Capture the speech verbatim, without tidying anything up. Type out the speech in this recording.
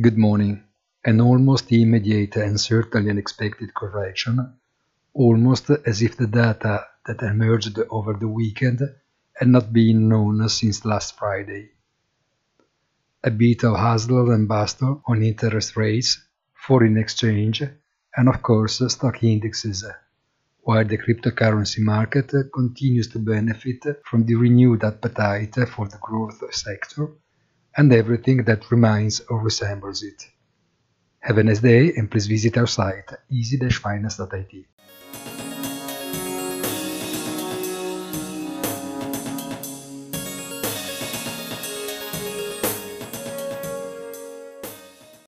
Good morning. An almost immediate and certainly unexpected correction, almost as if the data that emerged over the weekend had not been known since last Friday. A bit of hustle and bustle on interest rates, foreign exchange, and of course stock indexes, while the cryptocurrency market continues to benefit from the renewed appetite for the growth sector and everything that reminds or resembles it. Have a nice day and please visit our site easy dash finance dot I T.